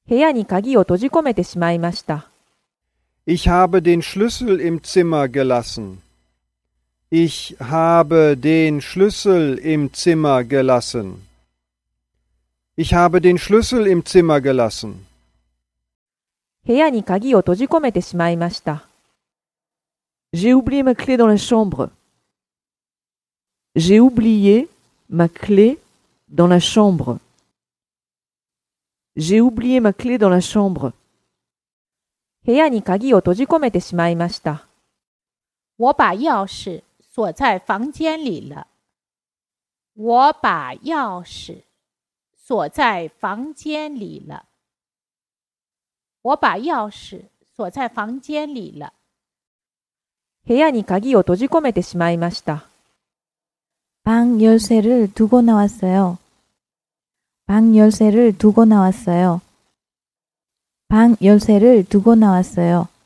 部屋に鍵を閉じ込めてしまいました。 Ich habe den Schlüssel im Zimmer gelassen. Ich habe den Schlüssel im Zimmer gelassen. Ich habe den Schlüssel im Zimmer gelassen. 部屋に鍵を閉じ込めてしまいました。 J'ai oublié ma clé dans la chambre. J'ai oublié ma clé dans la chambre. J'ai oublié ma clé dans la chambre. 部屋に鍵を閉じ込めてしまいました。 我把钥匙锁在房间里了。我把钥匙锁在房间里了。我把钥匙锁在房间里了。 部屋に鍵を閉じ込めてしまいました。 방 열쇠를 두고 나왔어요. 방 열쇠를 두고 나왔어요. 방 열쇠를 두고 나왔어요.